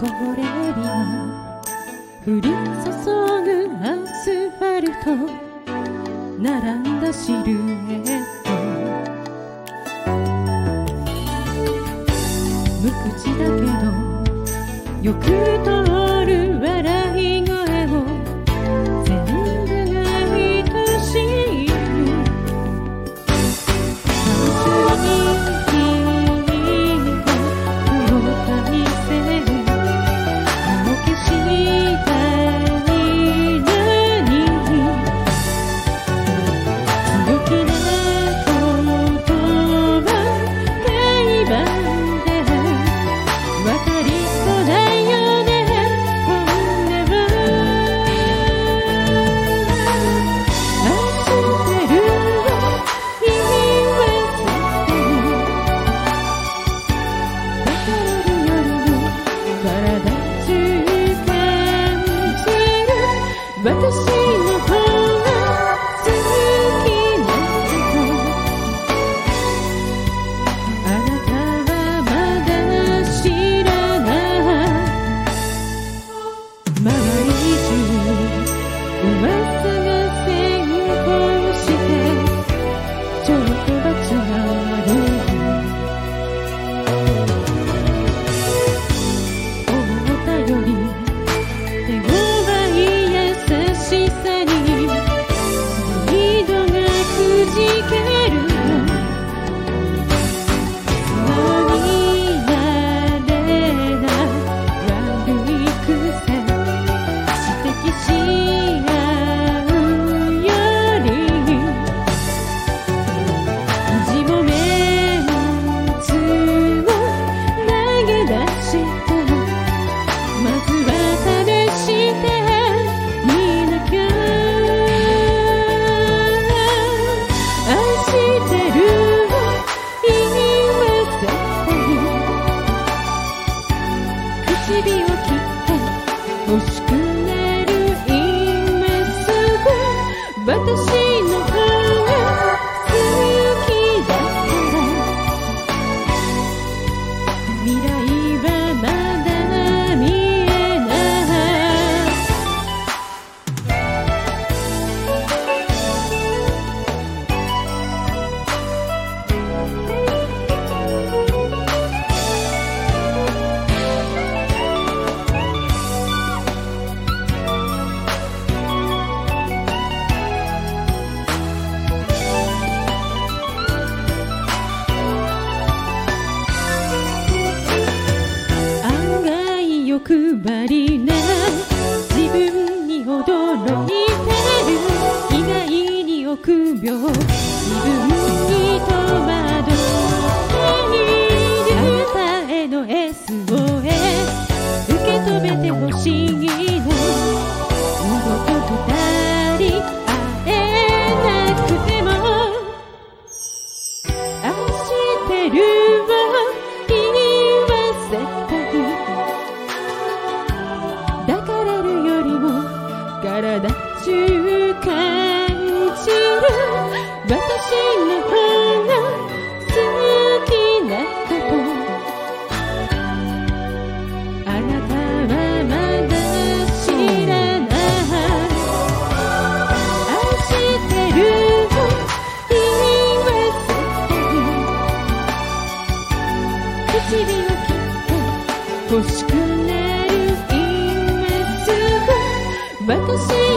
こぼれ日が降り注ぐアスファルト、並んだシルエット、無口だけどよく通る笑い声を全部が愛しい。私の方が好きなことあなたはまだ知らない。周り中噂が先行してちょっと罰がある。思ったより手強指を切って欲しくなる今すぐ私の方が好きだから未来はまだ見えない。欲張りな自分に驚いてる。意外に臆病自分に戸惑っている。あなたへの SOS 受け止めてほしいの。二度と二人会えなくても愛してるを言わせたい。抱かれるよりも体中感じる。私の方が好きなことあなたはまだ知らない。愛してるを言わせたい。唇を切って欲しくなる私